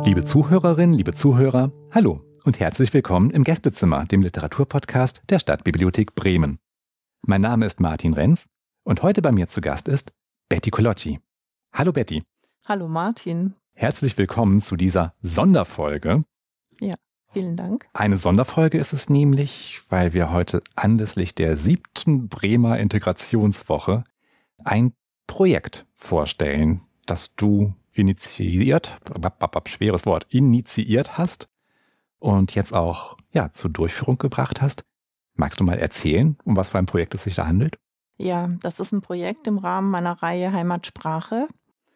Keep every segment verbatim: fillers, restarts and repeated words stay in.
Liebe Zuhörerinnen, liebe Zuhörer, hallo und herzlich willkommen im Gästezimmer, dem Literaturpodcast der Stadtbibliothek Bremen. Mein Name ist Martin Renz und heute bei mir zu Gast ist Betty Koloczi. Hallo Betty. Hallo Martin. Herzlich willkommen zu dieser Sonderfolge. Ja, vielen Dank. Eine Sonderfolge ist es nämlich, weil wir heute anlässlich der siebten Bremer Integrationswoche ein Projekt vorstellen, das du initiiert, schweres Wort, initiiert hast und jetzt auch ja, zur Durchführung gebracht hast. Magst du mal erzählen, um was für ein Projekt es sich da handelt? Ja, das ist ein Projekt im Rahmen meiner Reihe Heimatsprache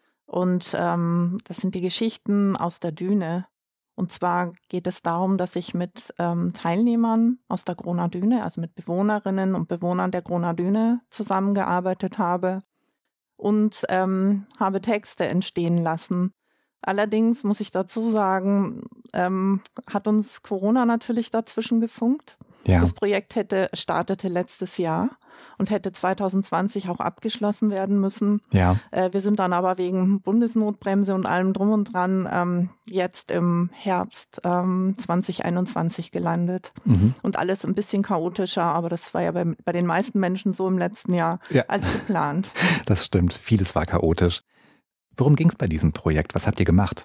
und ähm, das sind die Geschichten aus der Düne. Und zwar geht es darum, dass ich mit ähm, Teilnehmern aus der Groner Düne, also mit Bewohnerinnen und Bewohnern der Groner Düne zusammengearbeitet habe und ähm, habe Texte entstehen lassen. Allerdings muss ich dazu sagen, ähm, hat uns Corona natürlich dazwischen gefunkt. Ja. Das Projekt hätte startete letztes Jahr und hätte zwanzig zwanzig auch abgeschlossen werden müssen. Ja. Äh, wir sind dann aber wegen Bundesnotbremse und allem drum und dran ähm, jetzt im Herbst ähm, zwanzig einundzwanzig gelandet. Mhm. Und alles ein bisschen chaotischer, aber das war ja bei, bei den meisten Menschen so im letzten Jahr Ja. als geplant. Das stimmt, vieles war chaotisch. Worum ging es bei diesem Projekt? Was habt ihr gemacht?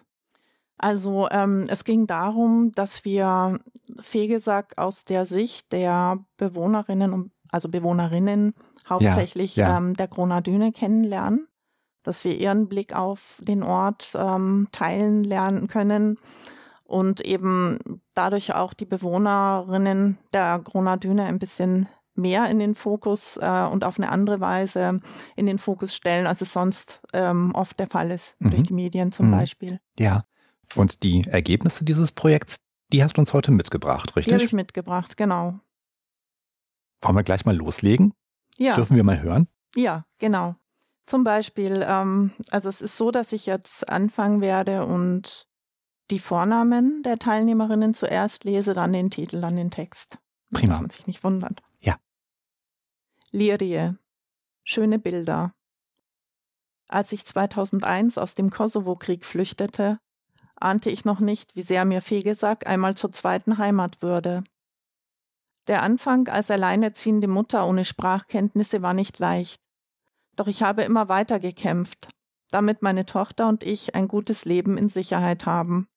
Also ähm, es ging darum, dass wir Fegesack aus der Sicht der Bewohnerinnen und also Bewohnerinnen hauptsächlich Ja, ja. Ähm, der Groner Düne kennenlernen, dass wir ihren Blick auf den Ort ähm, teilen lernen können und eben dadurch auch die Bewohnerinnen der Groner Düne ein bisschen mehr in den Fokus äh, und auf eine andere Weise in den Fokus stellen, als es sonst ähm, oft der Fall ist, Mhm. durch die Medien zum Mhm. Beispiel. Ja. Und die Ergebnisse dieses Projekts, die hast du uns heute mitgebracht, Die habe richtig? ich mitgebracht, genau. Wollen wir gleich mal loslegen? Ja, Dürfen wir mal hören? ja, genau. Zum Beispiel, ähm, also es ist so, dass ich jetzt anfangen werde und die Vornamen der Teilnehmerinnen zuerst lese, dann den Titel, dann den Text. Prima. Dass man sich nicht wundert. Ja. Lirie. Schöne Bilder. Als ich zweitausendeins aus dem Kosovo-Krieg flüchtete, ahnte ich noch nicht, wie sehr mir Fegesack einmal zur zweiten Heimat würde. Der Anfang als alleinerziehende Mutter ohne Sprachkenntnisse war nicht leicht. Doch ich habe immer weiter gekämpft, damit meine Tochter und ich ein gutes Leben in Sicherheit haben.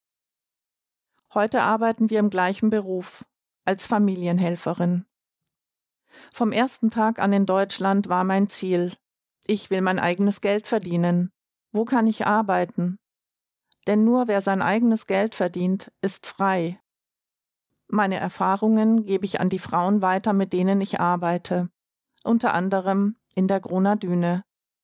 Heute arbeiten wir im gleichen Beruf, als Familienhelferin. Vom ersten Tag an in Deutschland war mein Ziel: Ich will mein eigenes Geld verdienen. Wo kann ich arbeiten? Denn nur wer sein eigenes Geld verdient, ist frei. Meine Erfahrungen gebe ich an die Frauen weiter, mit denen ich arbeite, unter anderem in der Groner Düne.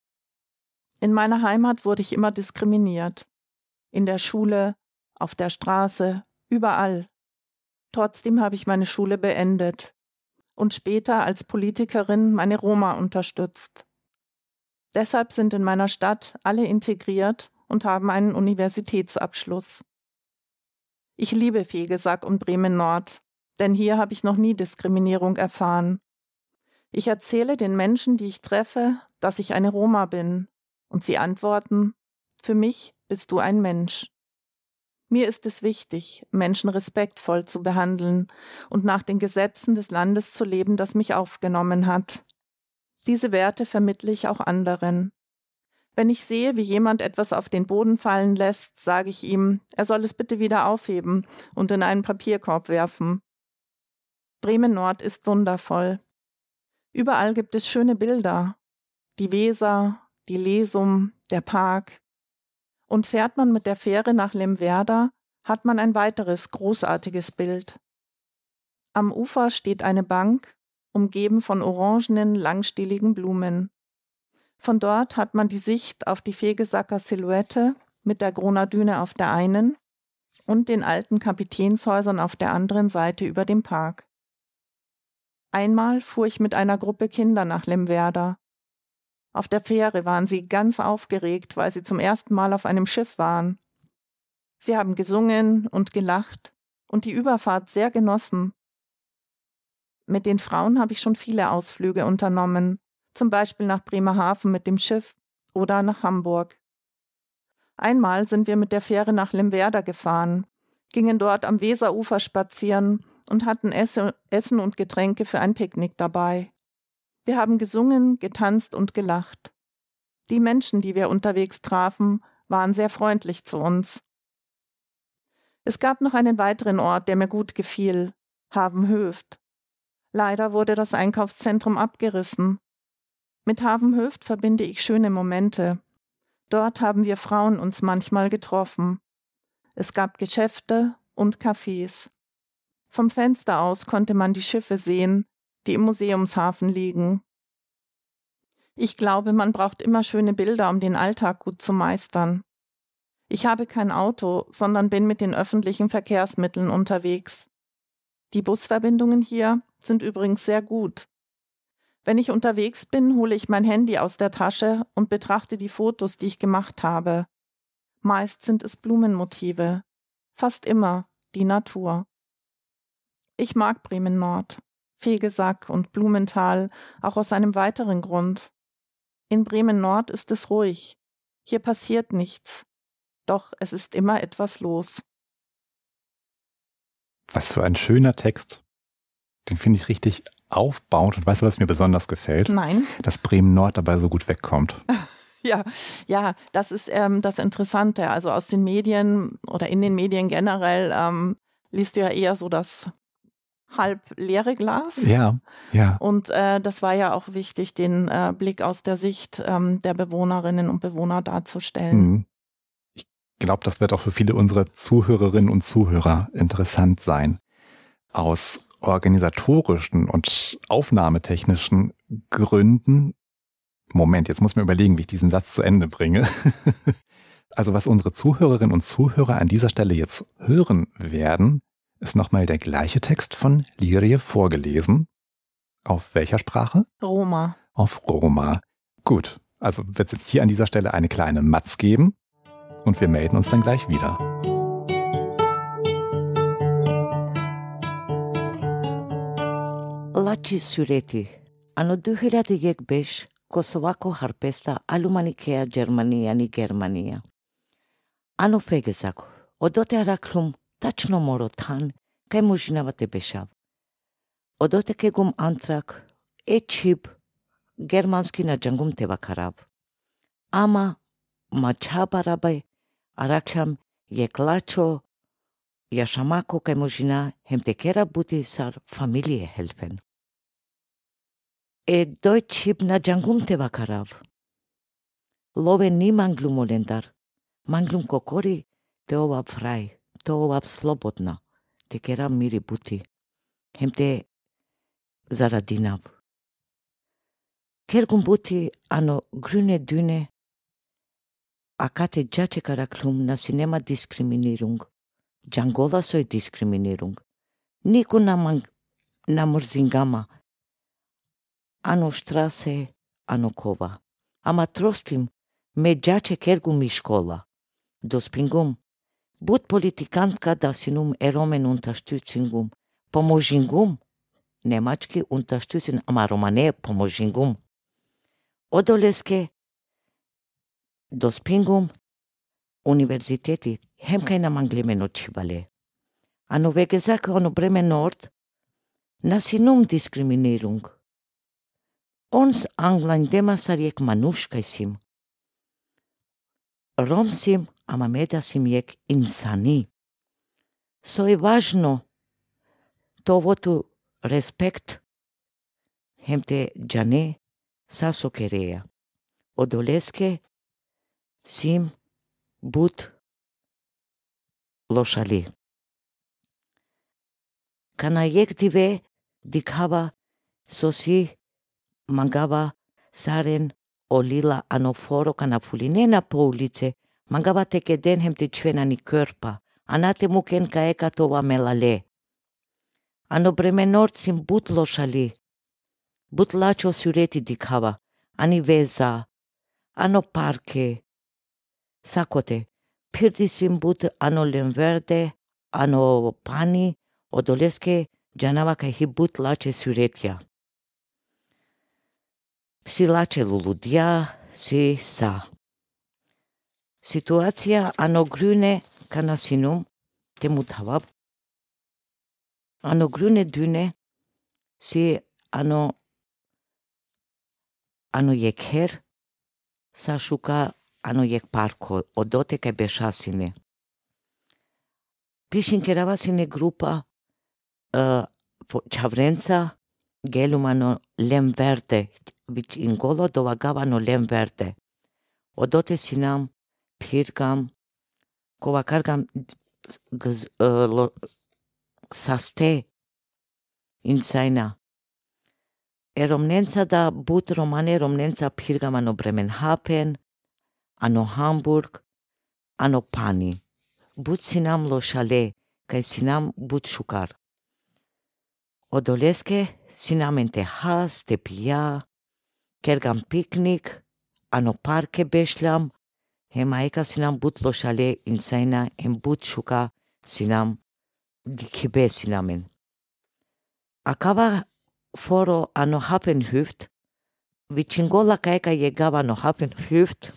In meiner Heimat wurde ich immer diskriminiert. In der Schule, auf der Straße, überall. Trotzdem habe ich meine Schule beendet und später als Politikerin meine Roma unterstützt. Deshalb sind in meiner Stadt alle integriert und haben einen Universitätsabschluss. Ich liebe Fegesack und Bremen-Nord, denn hier habe ich noch nie Diskriminierung erfahren. Ich erzähle den Menschen, die ich treffe, dass ich eine Roma bin, und sie antworten: Für mich bist du ein Mensch. Mir ist es wichtig, Menschen respektvoll zu behandeln und nach den Gesetzen des Landes zu leben, das mich aufgenommen hat. Diese Werte vermittle ich auch anderen. Wenn ich sehe, wie jemand etwas auf den Boden fallen lässt, sage ich ihm, er soll es bitte wieder aufheben und in einen Papierkorb werfen. Bremen-Nord ist wundervoll. Überall gibt es schöne Bilder. Die Weser, die Lesum, der Park. Und fährt man mit der Fähre nach Lemwerder, hat man ein weiteres großartiges Bild. Am Ufer steht eine Bank, umgeben von orangenen, langstieligen Blumen. Von dort hat man die Sicht auf die Fegesacker Silhouette mit der Groner Düne auf der einen und den alten Kapitänshäusern auf der anderen Seite über dem Park. Einmal fuhr ich mit einer Gruppe Kinder nach Lemwerder. Auf der Fähre waren sie ganz aufgeregt, weil sie zum ersten Mal auf einem Schiff waren. Sie haben gesungen und gelacht und die Überfahrt sehr genossen. Mit den Frauen habe ich schon viele Ausflüge unternommen, zum Beispiel nach Bremerhaven mit dem Schiff oder nach Hamburg. Einmal sind wir mit der Fähre nach Limwerda gefahren, gingen dort am Weserufer spazieren und hatten Esse, Essen und Getränke für ein Picknick dabei. Wir haben gesungen, getanzt und gelacht. Die Menschen, die wir unterwegs trafen, waren sehr freundlich zu uns. Es gab noch einen weiteren Ort, der mir gut gefiel, Havenhöft. Leider wurde das Einkaufszentrum abgerissen. Mit Havenhöft verbinde ich schöne Momente. Dort haben wir Frauen uns manchmal getroffen. Es gab Geschäfte und Cafés. Vom Fenster aus konnte man die Schiffe sehen, die im Museumshafen liegen. Ich glaube, man braucht immer schöne Bilder, um den Alltag gut zu meistern. Ich habe kein Auto, sondern bin mit den öffentlichen Verkehrsmitteln unterwegs. Die Busverbindungen hier sind übrigens sehr gut. Wenn ich unterwegs bin, hole ich mein Handy aus der Tasche und betrachte die Fotos, die ich gemacht habe. Meist sind es Blumenmotive, fast immer die Natur. Ich mag Bremen Nord, Vegesack und Blumenthal, auch aus einem weiteren Grund. In Bremen Nord ist es ruhig, hier passiert nichts, doch es ist immer etwas los. Was für ein schöner Text. Den finde ich richtig aufbauend. Und weißt du, was mir besonders gefällt? Nein. Dass Bremen Nord dabei so gut wegkommt. Ja, ja, das ist ähm, das Interessante. Also aus den Medien oder in den Medien generell ähm, liest du ja eher so das halb leere Glas. Ja, ja. Und äh, das war ja auch wichtig, den äh, Blick aus der Sicht ähm, der Bewohnerinnen und Bewohner darzustellen. Mhm. Ich glaube, das wird auch für viele unserer Zuhörerinnen und Zuhörer interessant sein. Aus organisatorischen und aufnahmetechnischen Gründen, Moment, jetzt muss ich mir überlegen, wie ich diesen Satz zu Ende bringe. Also was unsere Zuhörerinnen und Zuhörer an dieser Stelle jetzt hören werden, ist nochmal der gleiche Text von Lirie vorgelesen. Auf welcher Sprache? Roma. Auf Roma. Gut, also wird es jetzt hier an dieser Stelle eine kleine Matz geben und wir melden uns dann gleich wieder. Laci Sureti, anno două mii unu Kosovaco harpesta alumanikea Germania Germania. Ano Fegesaco, odote araklum tačno morotan, kaj možinavate bešav. Odote kegum antrak, e čib, germanski na džangum teva karav. Ama mačabarabe araklam je klačo, jašamako kaj možina hem tekera buti sar familie helfen. E doi čib na džangum teva karav. Love ni manglum olendar, manglum kokori te ovab fraj. To ovab slobodna, te kera miri buti, hem te zaradinav. Kergum buti ano grüne Düne, akate džače karaklum na sinema Diskriminierung, Djangola soi Diskriminierung, niku na, man, na mrzingama, ano Straße, ano kova. Ama trostim, me džače kergum mi škola, dospingum, Bud politikantka da sinum eromen unterstützingum, pomožingum, nemački unterstützing, ama romane pomožingum. Odoleske dospingum universiteti, hem kaj na manglimeno čibale. Ano vegezak ono Bremen Nord, na sinum Diskriminierung. Ons anglain demasarjek manuškaj sim. Rom sim, ama meda sim jek insani. So je važno to votu respekt hem te džane saso kereja. Odoleske sim but lošali. Kana jek dive dikhava sosi mangava saren olila anoforo kana fulinena po ulice, mangava teke den hem te čvena ni körpa, anate muken ka eka tova melale. Ano Bremen Nord sim but lošali, but lačo sureti dikhava, ani veza, ano parke, sakote, pirdi sim but ano Limverde, ano pani, odoleske džanava ka hi but lače suretja. Si lače luludia, si sa. Situația anogrune canasinum te mutava. Anogrune dune si ano ano yekher sa shuka ano yek parko odote kai beshasine. Pishin keravasine grupa uh, Chavrența gelumano lem verde, vic ingolo dovagavano lem verde. Odote sinam pirgam kovakargam gz, uh, lo, saste in saina. Eromnența da but romane romnența pirgam ano Bremenhaven, ano Hamburg, ano Pani. But sinam lo shale, kai sinam but shukar. Odoleske sinam en Texas, te pia, kergam picnic, ano parke beshlam, hem aeka sinam but lo shale in saina, hem but shuka sinam dikibe sinamen. Acaba foro ano Hafenhüft, vichingola kaeka llegaba ano Hafenhüft,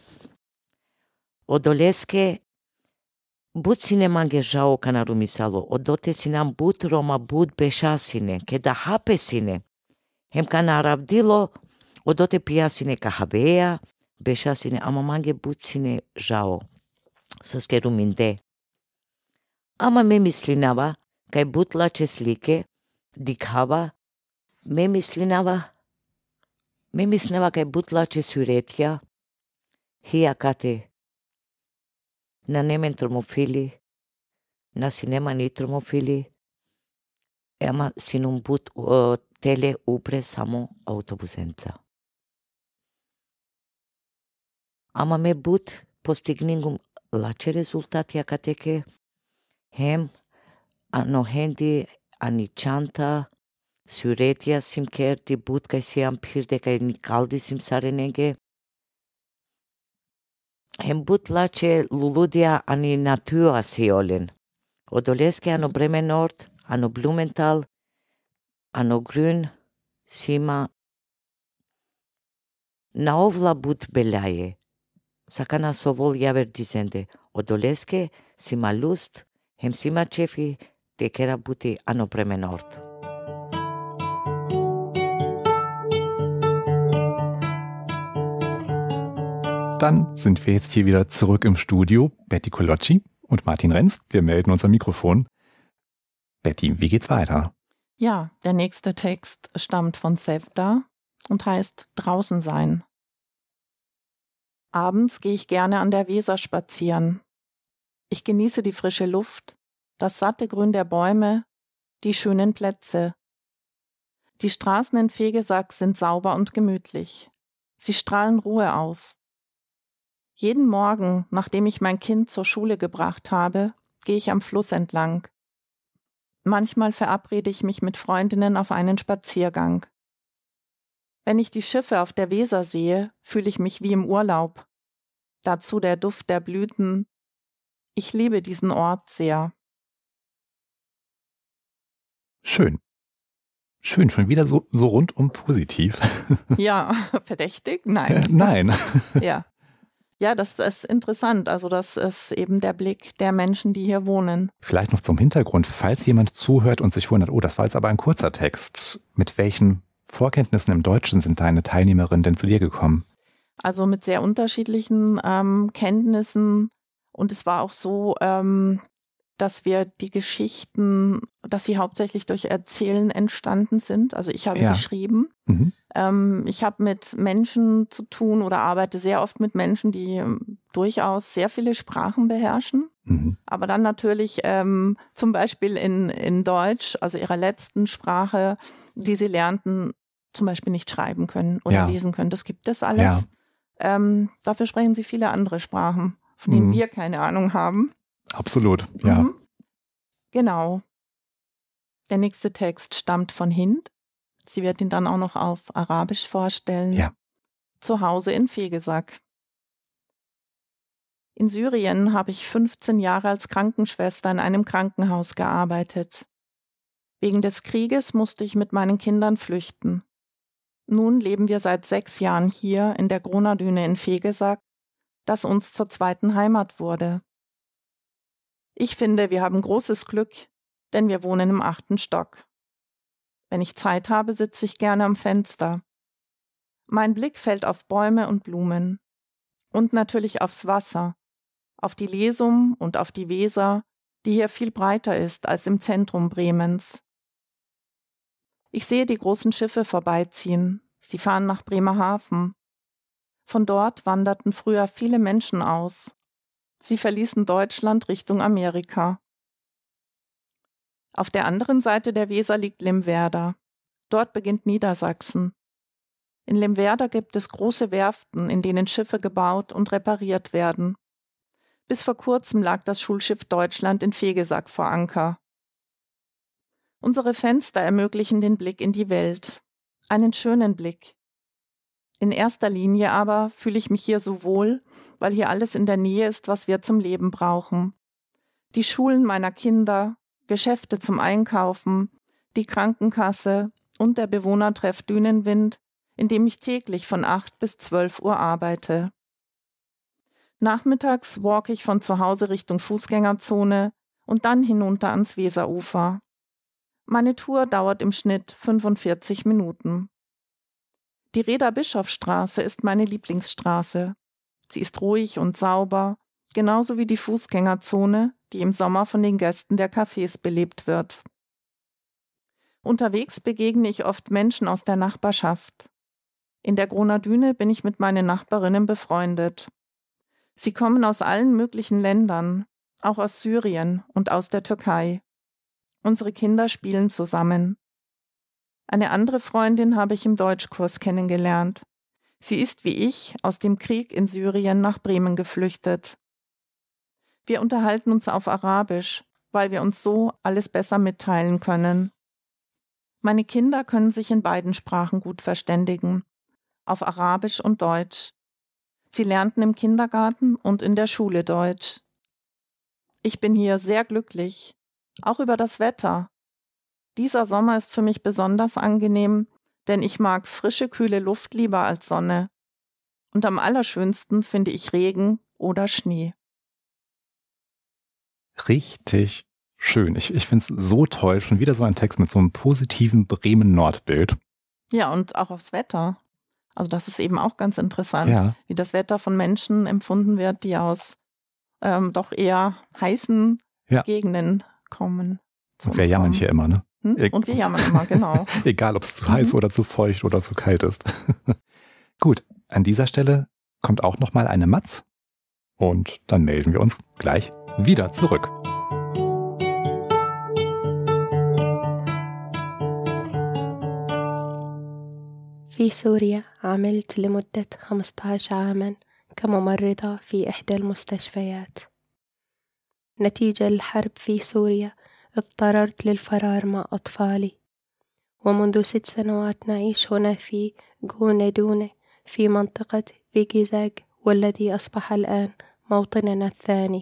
odoleske but sine mangejao canarumisalo, odote sinam but Roma but beshasine, ke da hape sine. Hem canarabdilo, odote pia sine kahavea, beshasine, ama mange but sine jao. Saske ruminde. Ama me mislinava, kai but la ceslike, dikhava, me mislinava, me mislinava kai but la cesuretia, hia kate, na nemen tromofili, na sinema ni tromofili, ema sinum but uh, tele upre samo autobusența. Ama me but postigningum la ce rezultatia cateke, hem ano hendi anicanta, suretia simkerti but kai siam pirde kai nikaldi sim sarenege, hem but lace luludia ani natua siolen. Odoleske ano Bremen Nord, ano Blumenthal, ano Grün, sima naovla but belaie. Sakana sovol javer dizende. Odoleske sima lust, hem sima cefi te kera buti ano Bremen Nord. Dann sind wir jetzt hier wieder zurück im Studio. Betty Kolocci und Martin Renz. Wir melden uns am Mikrofon. Betty, wie geht's weiter? Ja, der nächste Text stammt von Sevda und heißt Draußen sein. Abends gehe ich gerne an der Weser spazieren. Ich genieße die frische Luft, das satte Grün der Bäume, die schönen Plätze. Die Straßen in Vegesack sind sauber und gemütlich. Sie strahlen Ruhe aus. Jeden Morgen, nachdem ich mein Kind zur Schule gebracht habe, gehe ich am Fluss entlang. Manchmal verabrede ich mich mit Freundinnen auf einen Spaziergang. Wenn ich die Schiffe auf der Weser sehe, fühle ich mich wie im Urlaub. Dazu der Duft der Blüten. Ich liebe diesen Ort sehr. Schön. Schön, schon wieder so, so rundum positiv. Ja, verdächtig? Nein. Äh, nein. Ja. Ja, das ist interessant. Also das ist eben der Blick der Menschen, die hier wohnen. Vielleicht noch zum Hintergrund, falls jemand zuhört und sich wundert, oh, das war jetzt aber ein kurzer Text. Mit welchen Vorkenntnissen im Deutschen sind deine Teilnehmerinnen denn zu dir gekommen? Also mit sehr unterschiedlichen ähm, Kenntnissen. Und es war auch so, ähm, dass wir die Geschichten, dass sie hauptsächlich durch Erzählen entstanden sind. Also ich habe ja. geschrieben. Mhm. Ähm, ich habe mit Menschen zu tun oder arbeite sehr oft mit Menschen, die ähm, durchaus sehr viele Sprachen beherrschen. Mhm. Aber dann natürlich ähm, zum Beispiel in, in Deutsch, also ihrer letzten Sprache, die sie lernten, zum Beispiel nicht schreiben können oder ja. lesen können. Das gibt es alles. Ja. Ähm, dafür sprechen sie viele andere Sprachen, von denen mhm. wir keine Ahnung haben. Absolut, ja. Mhm. Genau. Der nächste Text stammt von Hind. Sie wird ihn dann auch noch auf Arabisch vorstellen. Ja. Zu Hause in Vegesack. In Syrien habe ich fünfzehn Jahre als Krankenschwester in einem Krankenhaus gearbeitet. Wegen des Krieges musste ich mit meinen Kindern flüchten. Nun leben wir seit sechs Jahren hier in der Gronadüne in Vegesack, das uns zur zweiten Heimat wurde. Ich finde, wir haben großes Glück, denn wir wohnen im achten Stock. Wenn ich Zeit habe, sitze ich gerne am Fenster. Mein Blick fällt auf Bäume und Blumen und natürlich aufs Wasser, auf die Lesum und auf die Weser, die hier viel breiter ist als im Zentrum Bremens. Ich sehe die großen Schiffe vorbeiziehen, sie fahren nach Bremerhaven. Von dort wanderten früher viele Menschen aus. Sie verließen Deutschland Richtung Amerika. Auf der anderen Seite der Weser liegt Limwerder. Dort beginnt Niedersachsen. In Limwerder gibt es große Werften, in denen Schiffe gebaut und repariert werden. Bis vor kurzem lag das Schulschiff Deutschland in Vegesack vor Anker. Unsere Fenster ermöglichen den Blick in die Welt. Einen schönen Blick. In erster Linie aber fühle ich mich hier so wohl, weil hier alles in der Nähe ist, was wir zum Leben brauchen. Die Schulen meiner Kinder, Geschäfte zum Einkaufen, die Krankenkasse und der Bewohnertreff Dünenwind, in dem ich täglich von acht bis zwölf Uhr arbeite. Nachmittags walke ich von zu Hause Richtung Fußgängerzone und dann hinunter ans Weserufer. Meine Tour dauert im Schnitt fünfundvierzig Minuten. Die Reda-Bischof-Straße ist meine Lieblingsstraße. Sie ist ruhig und sauber, genauso wie die Fußgängerzone, die im Sommer von den Gästen der Cafés belebt wird. Unterwegs begegne ich oft Menschen aus der Nachbarschaft. In der Groner Düne bin ich mit meinen Nachbarinnen befreundet. Sie kommen aus allen möglichen Ländern, auch aus Syrien und aus der Türkei. Unsere Kinder spielen zusammen. Eine andere Freundin habe ich im Deutschkurs kennengelernt. Sie ist wie ich aus dem Krieg in Syrien nach Bremen geflüchtet. Wir unterhalten uns auf Arabisch, weil wir uns so alles besser mitteilen können. Meine Kinder können sich in beiden Sprachen gut verständigen, auf Arabisch und Deutsch. Sie lernten im Kindergarten und in der Schule Deutsch. Ich bin hier sehr glücklich, auch über das Wetter. Dieser Sommer ist für mich besonders angenehm, denn ich mag frische, kühle Luft lieber als Sonne. Und am allerschönsten finde ich Regen oder Schnee. Richtig schön. Ich, ich finde es so toll. Schon wieder so ein Text mit so einem positiven Bremen-Nord-Bild. Ja, und auch aufs Wetter. Also das ist eben auch ganz interessant, Ja. Wie das Wetter von Menschen empfunden wird, die aus ähm, doch eher heißen Ja. Gegenden kommen. Und wir jammern hier immer, ne? Hm? Und wir jammern immer, genau. Egal, ob es zu heiß Mhm. oder zu feucht oder zu kalt ist. Gut, an dieser Stelle kommt auch nochmal eine Matz und dann melden wir uns gleich wieder zurück. في سوريا عملت لمدة خمسة عشر عاماً كممرضة في إحدى المستشفيات. نتيجة للحرب في سوريا اضطررت للفرار مع أطفالي، ومنذ ست سنوات نعيش هنا في غونة دونة في منطقة فيغيزاغ، والذي أصبح الآن موطننا الثاني.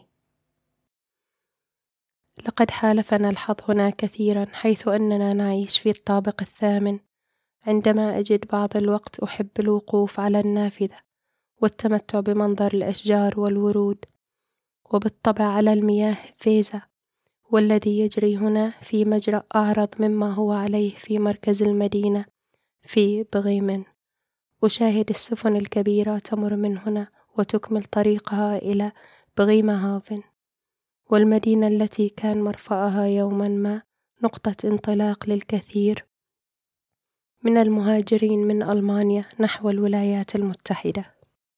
لقد حالفنا الحظ هنا كثيرا، حيث أننا نعيش في الطابق الثامن. عندما أجد بعض الوقت أحب الوقوف على النافذة والتمتع بمنظر الأشجار والورود، وبالطبع على المياه فيزا، والذي يجري هنا في مجرى أعرض مما هو عليه في مركز المدينة في بغيمن. أشاهد السفن الكبيرة تمر من هنا وتكمل طريقها إلى بغيمهافن، والمدينة التي كان مرفأها يوما ما نقطة انطلاق للكثير من المهاجرين من ألمانيا نحو الولايات المتحدة.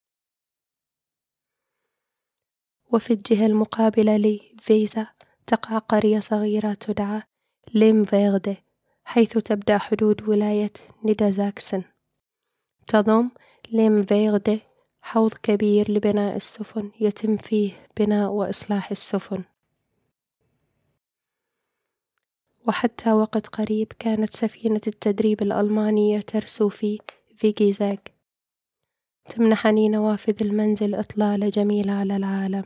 وفي الجهة المقابلة لفيزا تقع قرية صغيرة تدعى ليمفيغدي، حيث تبدأ حدود ولاية نيدرساكسن. تضم ليمفيغدي حوض كبير لبناء السفن يتم فيه بناء وإصلاح السفن. وحتى وقت قريب كانت سفينة التدريب الألمانية ترسو في فيغيزاغ. تمنحني نوافذ المنزل إطلالة جميلة على العالم.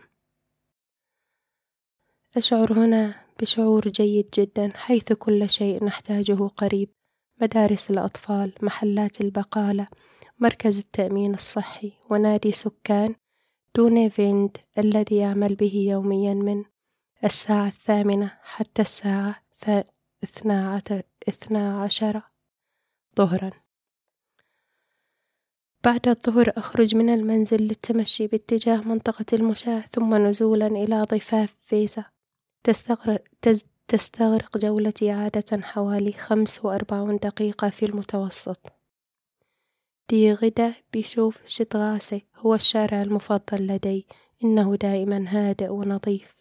أشعر هنا بشعور جيد جدا، حيث كل شيء نحتاجه قريب: مدارس الأطفال، محلات البقالة، مركز التأمين الصحي، ونادي سكان دون فيند الذي يعمل به يوميا من الساعة الثامنة حتى الساعة اثنا عشر ظهرا. بعد الظهر أخرج من المنزل للتمشي باتجاه منطقة المشاة ثم نزولا إلى ضفاف فيزا. تستغرق, تستغرق جولتي عادة حوالي خمس وأربعون دقيقة في المتوسط. دي غدا بيشوف شتغاسي هو الشارع المفضل لدي، إنه دائما هادئ ونظيف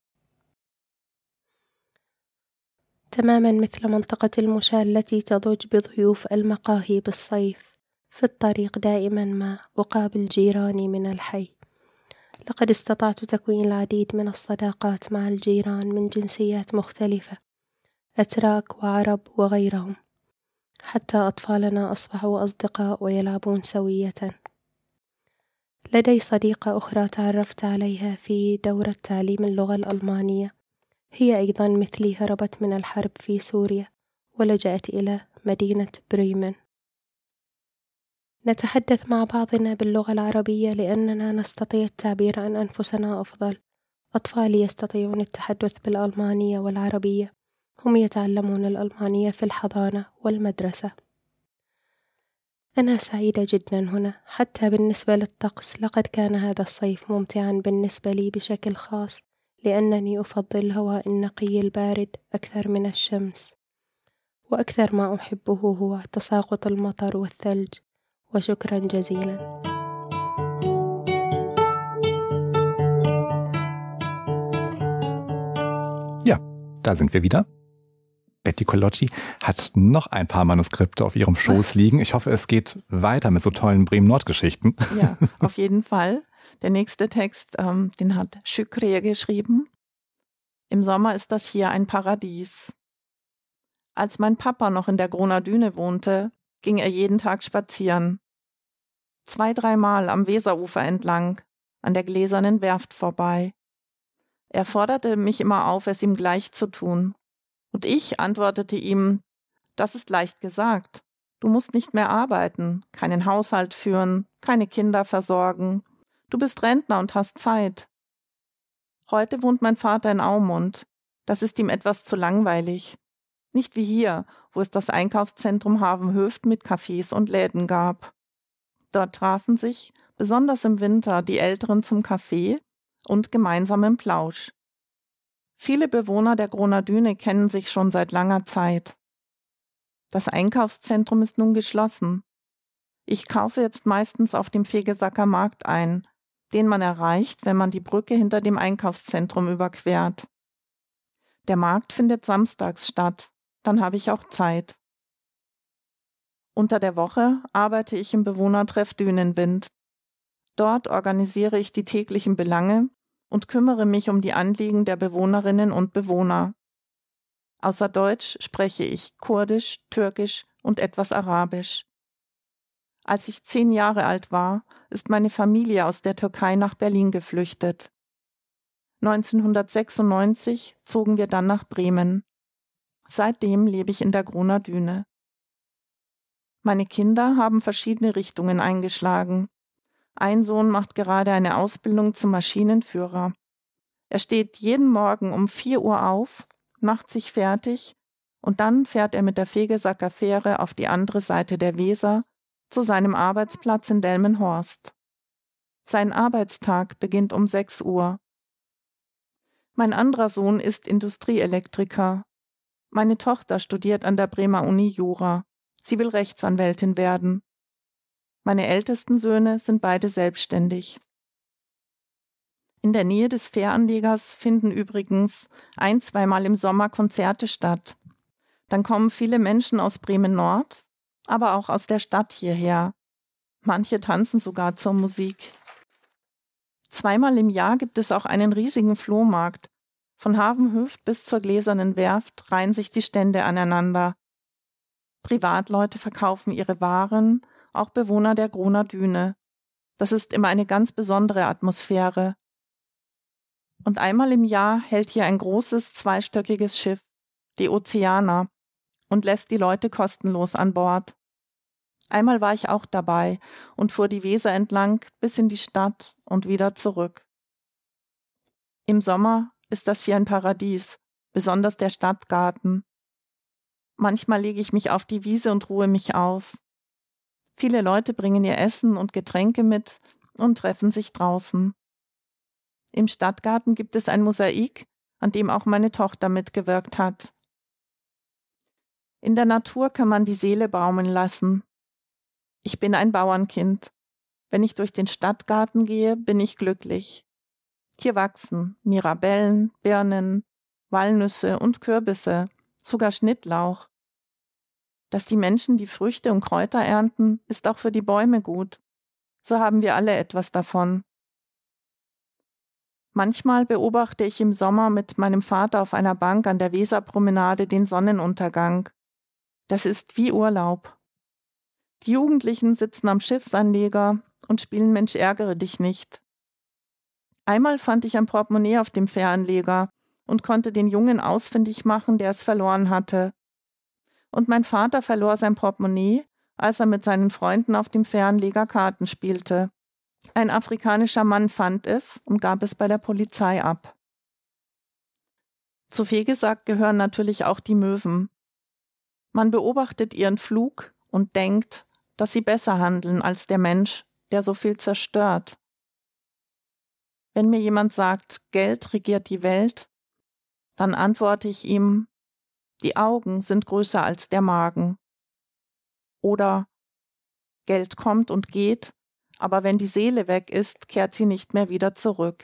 تماما مثل منطقة المشاة التي تضج بضيوف المقاهي بالصيف. في الطريق دائما ما أقابل جيراني من الحي. لقد استطعت تكوين العديد من الصداقات مع الجيران من جنسيات مختلفة، أتراك وعرب وغيرهم، حتى أطفالنا أصبحوا أصدقاء ويلعبون سوية. لدي صديقة أخرى تعرفت عليها في دورة تعليم اللغة الألمانية، هي أيضا مثلي هربت من الحرب في سوريا ولجأت إلى مدينة بريمن. نتحدث مع بعضنا باللغة العربية لأننا نستطيع التعبير عن أنفسنا أفضل. أطفالي يستطيعون التحدث بالألمانية والعربية، هم يتعلمون الألمانية في الحضانة والمدرسة. أنا سعيدة جدا هنا، حتى بالنسبة للطقس لقد كان هذا الصيف ممتعا بالنسبة لي بشكل خاص، لأنني أفضل الهواء النقي البارد أكثر من الشمس، وأكثر ما أحبه هو تساقط المطر والثلج. وشكرا جزيلا. Ja, da sind wir wieder. Betty Kolodji hat noch ein paar Manuskripte auf ihrem Schoß liegen. Ich hoffe, es geht weiter mit so tollen Bremen-Nord-Geschichten. Ja, auf jeden Fall. Der nächste Text, ähm, den hat Şükriye geschrieben. Im Sommer ist das hier ein Paradies. Als mein Papa noch in der Groner Düne wohnte, ging er jeden Tag spazieren. Zwei, dreimal am Weserufer entlang, an der gläsernen Werft vorbei. Er forderte mich immer auf, es ihm gleich zu tun. Und ich antwortete ihm, das ist leicht gesagt. Du musst nicht mehr arbeiten, keinen Haushalt führen, keine Kinder versorgen. Du bist Rentner und hast Zeit. Heute wohnt mein Vater in Aumund. Das ist ihm etwas zu langweilig. Nicht wie hier, wo es das Einkaufszentrum Havenhöft mit Cafés und Läden gab. Dort trafen sich, besonders im Winter, die Älteren zum Kaffee und gemeinsamen Plausch. Viele Bewohner der Groner Düne kennen sich schon seit langer Zeit. Das Einkaufszentrum ist nun geschlossen. Ich kaufe jetzt meistens auf dem Vegesacker Markt ein, den man erreicht, wenn man die Brücke hinter dem Einkaufszentrum überquert. Der Markt findet samstags statt, dann habe ich auch Zeit. Unter der Woche arbeite ich im Bewohnertreff Dünenwind. Dort organisiere ich die täglichen Belange und kümmere mich um die Anliegen der Bewohnerinnen und Bewohner. Außer Deutsch spreche ich Kurdisch, Türkisch und etwas Arabisch. Als ich zehn Jahre alt war, ist meine Familie aus der Türkei nach Berlin geflüchtet. neunzehnhundertsechsundneunzig zogen wir dann nach Bremen. Seitdem lebe ich in der Groner Düne. Meine Kinder haben verschiedene Richtungen eingeschlagen. Ein Sohn macht gerade eine Ausbildung zum Maschinenführer. Er steht jeden Morgen um vier Uhr auf, macht sich fertig und dann fährt er mit der Vegesacker Fähre auf die andere Seite der Weser zu seinem Arbeitsplatz in Delmenhorst. Sein Arbeitstag beginnt um sechs Uhr. Mein anderer Sohn ist Industrieelektriker. Meine Tochter studiert an der Bremer Uni Jura. Sie will Rechtsanwältin werden. Meine ältesten Söhne sind beide selbstständig. In der Nähe des Fähranlegers finden übrigens ein-, zweimal im Sommer Konzerte statt. Dann kommen viele Menschen aus Bremen-Nord, aber auch aus der Stadt hierher. Manche tanzen sogar zur Musik. Zweimal im Jahr gibt es auch einen riesigen Flohmarkt. Von Havenhöft bis zur gläsernen Werft reihen sich die Stände aneinander. Privatleute verkaufen ihre Waren, auch Bewohner der Groner Düne. Das ist immer eine ganz besondere Atmosphäre. Und einmal im Jahr hält hier ein großes, zweistöckiges Schiff, die Ozeaner, und lässt die Leute kostenlos an Bord. Einmal war ich auch dabei und fuhr die Weser entlang bis in die Stadt und wieder zurück. Im Sommer ist das hier ein Paradies, besonders der Stadtgarten. Manchmal lege ich mich auf die Wiese und ruhe mich aus. Viele Leute bringen ihr Essen und Getränke mit und treffen sich draußen. Im Stadtgarten gibt es ein Mosaik, an dem auch meine Tochter mitgewirkt hat. In der Natur kann man die Seele baumeln lassen. Ich bin ein Bauernkind. Wenn ich durch den Stadtgarten gehe, bin ich glücklich. Hier wachsen Mirabellen, Birnen, Walnüsse und Kürbisse, sogar Schnittlauch. Dass die Menschen die Früchte und Kräuter ernten, ist auch für die Bäume gut. So haben wir alle etwas davon. Manchmal beobachte ich im Sommer mit meinem Vater auf einer Bank an der Weserpromenade den Sonnenuntergang. Das ist wie Urlaub. Die Jugendlichen sitzen am Schiffsanleger und spielen Mensch ärgere dich nicht. Einmal fand ich ein Portemonnaie auf dem Fähranleger und konnte den Jungen ausfindig machen, der es verloren hatte. Und mein Vater verlor sein Portemonnaie, als er mit seinen Freunden auf dem Fähranleger Karten spielte. Ein afrikanischer Mann fand es und gab es bei der Polizei ab. Zu Fegesack gehören natürlich auch die Möwen. Man beobachtet ihren Flug und denkt, dass sie besser handeln als der Mensch, der so viel zerstört. Wenn mir jemand sagt, Geld regiert die Welt, dann antworte ich ihm, die Augen sind größer als der Magen. Oder Geld kommt und geht, aber wenn die Seele weg ist, kehrt sie nicht mehr wieder zurück.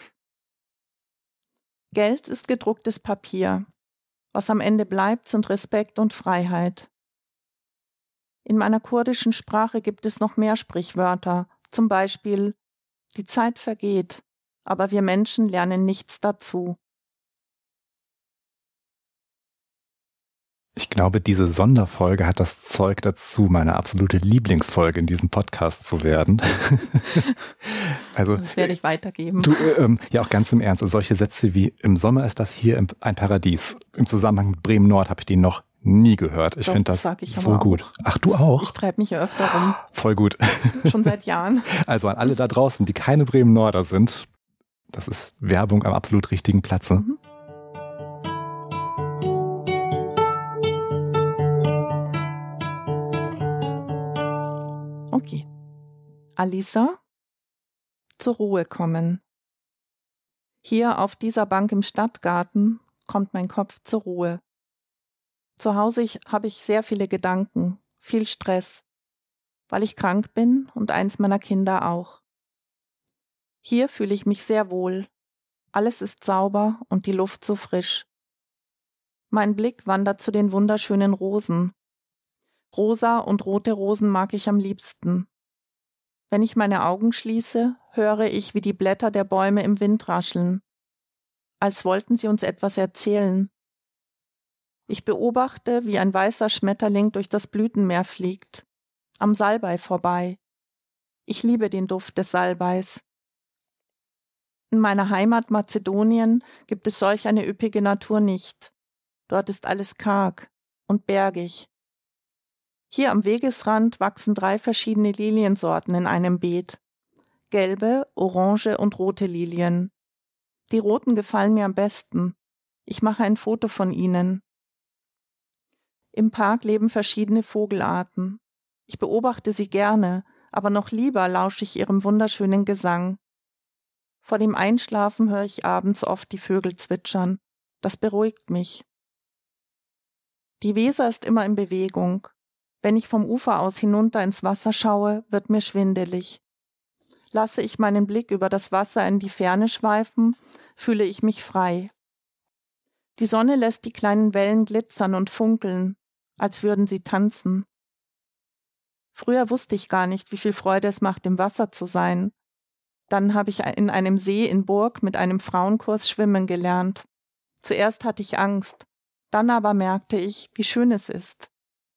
Geld ist gedrucktes Papier. Was am Ende bleibt, sind Respekt und Freiheit. In meiner kurdischen Sprache gibt es noch mehr Sprichwörter, zum Beispiel, die Zeit vergeht, aber wir Menschen lernen nichts dazu. Ich glaube, diese Sonderfolge hat das Zeug dazu, meine absolute Lieblingsfolge in diesem Podcast zu werden. Also, das werde ich weitergeben. Du, ähm, ja, auch ganz im Ernst. Also solche Sätze wie, im Sommer ist das hier ein Paradies. Im Zusammenhang mit Bremen-Nord habe ich die noch nie gehört. Ich finde das, das so gut. Auch. Ach, du auch? Ich treibe mich ja öfter rum. Voll gut. Schon seit Jahren. Also an alle da draußen, die keine Bremen-Norder sind, das ist Werbung am absolut richtigen Platze. Mhm. Okay. Alisa, zur Ruhe kommen. Hier auf dieser Bank im Stadtgarten kommt mein Kopf zur Ruhe. Zu Hause habe ich sehr viele Gedanken, viel Stress, weil ich krank bin und eins meiner Kinder auch. Hier fühle ich mich sehr wohl. Alles ist sauber und die Luft so frisch. Mein Blick wandert zu den wunderschönen Rosen. Rosa und rote Rosen mag ich am liebsten. Wenn ich meine Augen schließe, höre ich, wie die Blätter der Bäume im Wind rascheln, als wollten sie uns etwas erzählen. Ich beobachte, wie ein weißer Schmetterling durch das Blütenmeer fliegt, am Salbei vorbei. Ich liebe den Duft des Salbeis. In meiner Heimat Mazedonien gibt es solch eine üppige Natur nicht. Dort ist alles karg und bergig. Hier am Wegesrand wachsen drei verschiedene Liliensorten in einem Beet. Gelbe, orange und rote Lilien. Die roten gefallen mir am besten. Ich mache ein Foto von ihnen. Im Park leben verschiedene Vogelarten. Ich beobachte sie gerne, aber noch lieber lausche ich ihrem wunderschönen Gesang. Vor dem Einschlafen höre ich abends oft die Vögel zwitschern. Das beruhigt mich. Die Weser ist immer in Bewegung. Wenn ich vom Ufer aus hinunter ins Wasser schaue, wird mir schwindelig. Lasse ich meinen Blick über das Wasser in die Ferne schweifen, fühle ich mich frei. Die Sonne lässt die kleinen Wellen glitzern und funkeln, als würden sie tanzen. Früher wusste ich gar nicht, wie viel Freude es macht, im Wasser zu sein. Dann habe ich in einem See in Burg mit einem Frauenkurs schwimmen gelernt. Zuerst hatte ich Angst, dann aber merkte ich, wie schön es ist.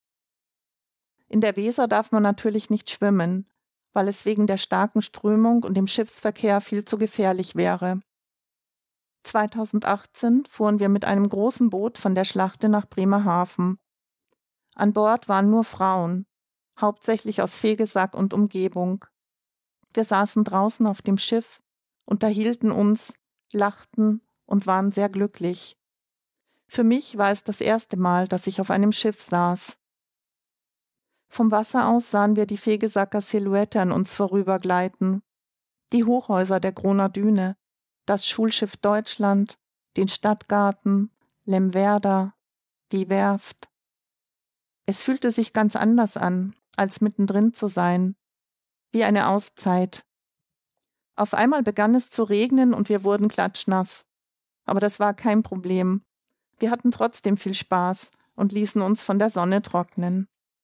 In der Weser darf man natürlich nicht schwimmen, weil es wegen der starken Strömung und dem Schiffsverkehr viel zu gefährlich wäre. zweitausendachtzehn fuhren wir mit einem großen Boot von der Schlachte nach Bremerhaven. An Bord waren nur Frauen, hauptsächlich aus Vegesack und Umgebung. Wir saßen draußen auf dem Schiff, unterhielten uns, lachten und waren sehr glücklich. Für mich war es das erste Mal, dass ich auf einem Schiff saß. Vom Wasser aus sahen wir die Vegesacker Silhouette an uns vorübergleiten, die Hochhäuser der Groner Düne, das Schulschiff Deutschland, den Stadtgarten, Lemwerder, die Werft. Es fühlte sich ganz anders an, als mittendrin zu sein, wie eine Auszeit. Auf einmal begann es zu regnen und wir wurden klatschnass. Aber das war kein Problem. Wir hatten trotzdem viel Spaß und ließen uns von der Sonne trocknen.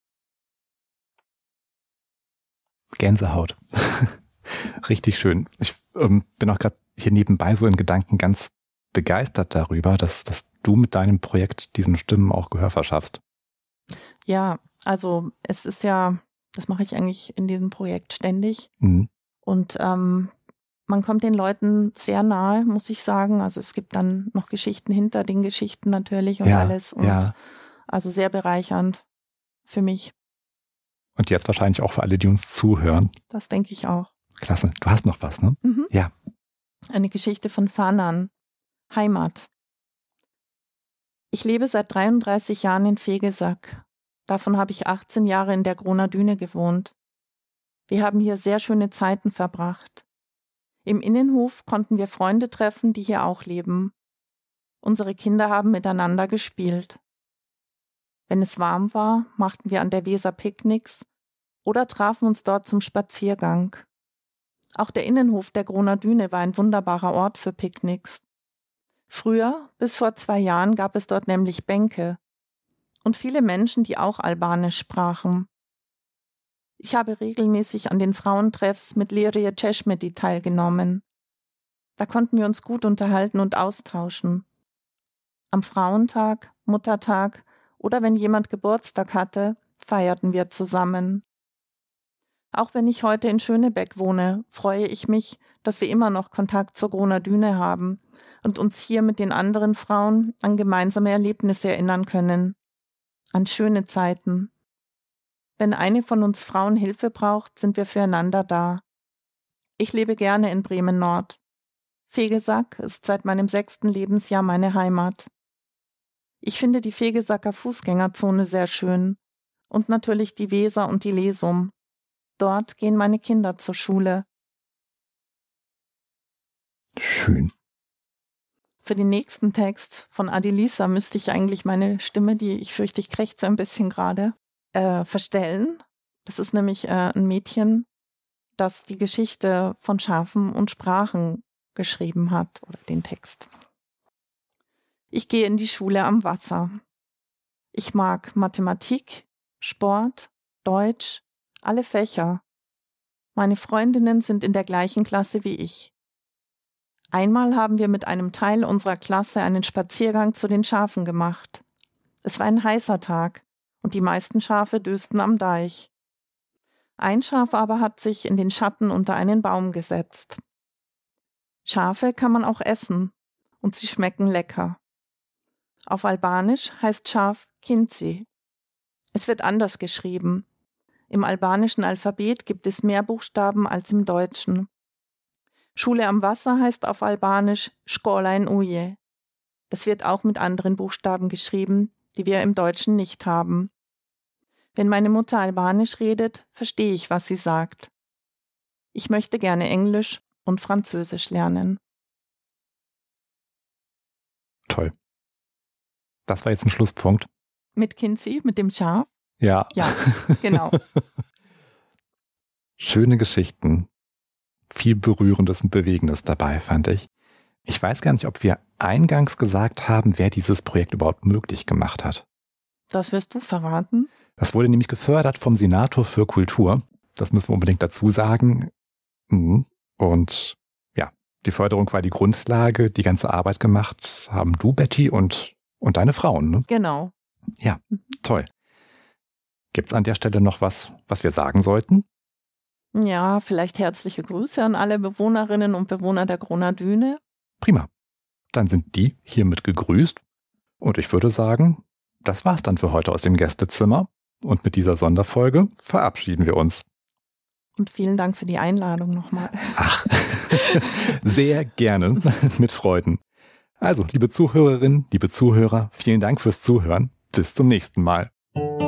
Gänsehaut. Richtig schön. Ich ähm, bin auch gerade hier nebenbei so in Gedanken ganz begeistert darüber, dass, dass du mit deinem Projekt diesen Stimmen auch Gehör verschaffst. Ja, also es ist ja, das mache ich eigentlich in diesem Projekt ständig. Mhm. Und ähm, man kommt den Leuten sehr nahe, muss ich sagen. Also es gibt dann noch Geschichten hinter den Geschichten natürlich und ja, alles. Und ja. Also sehr bereichernd für mich. Und jetzt wahrscheinlich auch für alle, die uns zuhören. Das denke ich auch. Klasse. Du hast noch was, ne? Mhm. Ja. Eine Geschichte von Fanan. Heimat. Ich lebe seit dreiunddreißig Jahren in Vegesack. Davon habe ich achtzehn Jahre in der Groner Düne gewohnt. Wir haben hier sehr schöne Zeiten verbracht. Im Innenhof konnten wir Freunde treffen, die hier auch leben. Unsere Kinder haben miteinander gespielt. Wenn es warm war, machten wir an der Weser Picknicks oder trafen uns dort zum Spaziergang. Auch der Innenhof der Groner Düne war ein wunderbarer Ort für Picknicks. Früher, bis vor zwei Jahren, gab es dort nämlich Bänke und viele Menschen, die auch Albanisch sprachen. Ich habe regelmäßig an den Frauentreffs mit Lirie Češmeti teilgenommen. Da konnten wir uns gut unterhalten und austauschen. Am Frauentag, Muttertag oder wenn jemand Geburtstag hatte, feierten wir zusammen. Auch wenn ich heute in Schönebeck wohne, freue ich mich, dass wir immer noch Kontakt zur Groner Düne haben und uns hier mit den anderen Frauen an gemeinsame Erlebnisse erinnern können. An schöne Zeiten. Wenn eine von uns Frauen Hilfe braucht, sind wir füreinander da. Ich lebe gerne in Bremen-Nord. Vegesack ist seit meinem sechsten Lebensjahr meine Heimat. Ich finde die Vegesacker Fußgängerzone sehr schön und natürlich die Weser und die Lesum. Dort gehen meine Kinder zur Schule. Schön. Für den nächsten Text von Adilisa müsste ich eigentlich meine Stimme, die ich fürchte, ich krächze ein bisschen gerade, äh, verstellen. Das ist nämlich äh, ein Mädchen, das die Geschichte von Schafen und Sprachen geschrieben hat, oder den Text. Ich gehe in die Schule am Wasser. Ich mag Mathematik, Sport, Deutsch, alle Fächer. Meine Freundinnen sind in der gleichen Klasse wie ich. Einmal haben wir mit einem Teil unserer Klasse einen Spaziergang zu den Schafen gemacht. Es war ein heißer Tag und die meisten Schafe dösten am Deich. Ein Schaf aber hat sich in den Schatten unter einen Baum gesetzt. Schafe kann man auch essen und sie schmecken lecker. Auf Albanisch heißt Schaf Kinci. Es wird anders geschrieben. Im albanischen Alphabet gibt es mehr Buchstaben als im Deutschen. Schule am Wasser heißt auf Albanisch Škola in Uje. Das wird auch mit anderen Buchstaben geschrieben, die wir im Deutschen nicht haben. Wenn meine Mutter Albanisch redet, verstehe ich, was sie sagt. Ich möchte gerne Englisch und Französisch lernen. Toll. Das war jetzt ein Schlusspunkt. Mit Kinci, mit dem Schaf? Ja. Ja, genau. Schöne Geschichten. Viel Berührendes und Bewegendes dabei, fand ich. Ich weiß gar nicht, ob wir eingangs gesagt haben, wer dieses Projekt überhaupt möglich gemacht hat. Das wirst du verraten. Das wurde nämlich gefördert vom Senator für Kultur. Das müssen wir unbedingt dazu sagen. Und ja, die Förderung war die Grundlage. Die ganze Arbeit gemacht haben du, Betty, und, und deine Frauen, ne? Genau. Ja, toll. Gibt es an der Stelle noch was, was wir sagen sollten? Ja, vielleicht herzliche Grüße an alle Bewohnerinnen und Bewohner der Groner Düne. Prima. Dann sind die hiermit gegrüßt. Und ich würde sagen, das war's dann für heute aus dem Gästezimmer. Und mit dieser Sonderfolge verabschieden wir uns. Und vielen Dank für die Einladung nochmal. Ach, sehr gerne, mit Freuden. Also, liebe Zuhörerinnen, liebe Zuhörer, vielen Dank fürs Zuhören. Bis zum nächsten Mal.